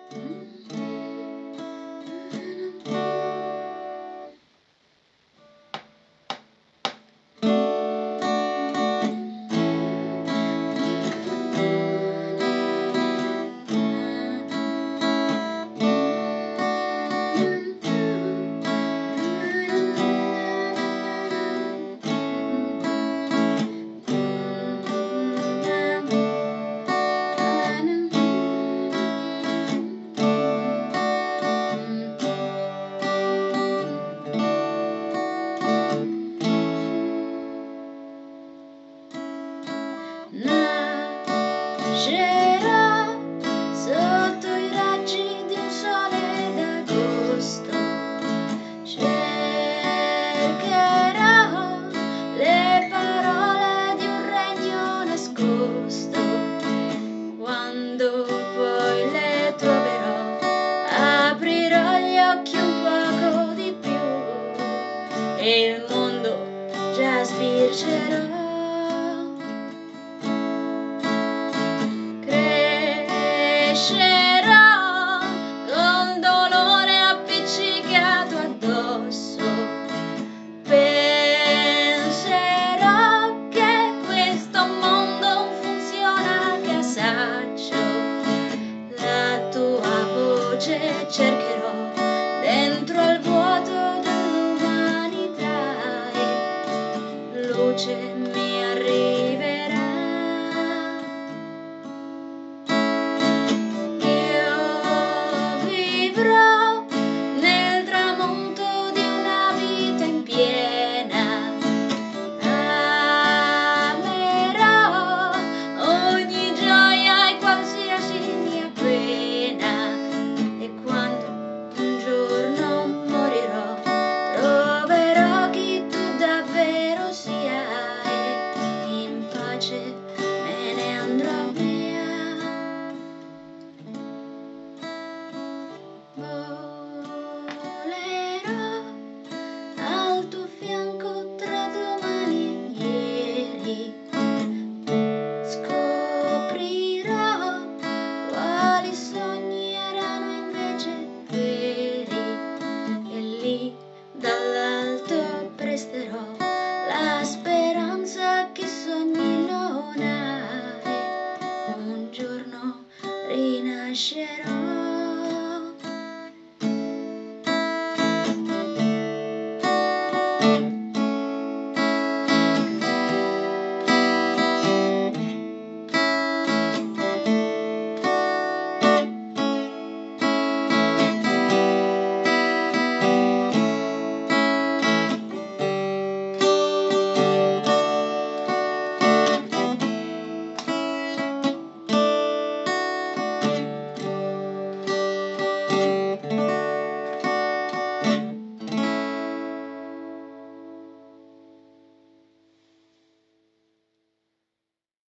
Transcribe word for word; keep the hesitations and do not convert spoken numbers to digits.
Nascerà sotto i raggi di un sole d'agosto, cercherò le parole di un regno nascosto. Quando poi le troverò, aprirò gli occhi un poco di più e il mondo già sbircerò. Crescerò con dolore appiccicato addosso, penserò che questo mondo funziona a casaccio, la tua voce cercherò dentro al vuoto dell'umanità e luce mi arriverà. Me ne andrò via, volerò al tuo fianco tra domani e ieri, scoprirò quali sogni erano invece veri e lì dall'alto presterò la speranza che sogni non hai, un giorno rinascerò.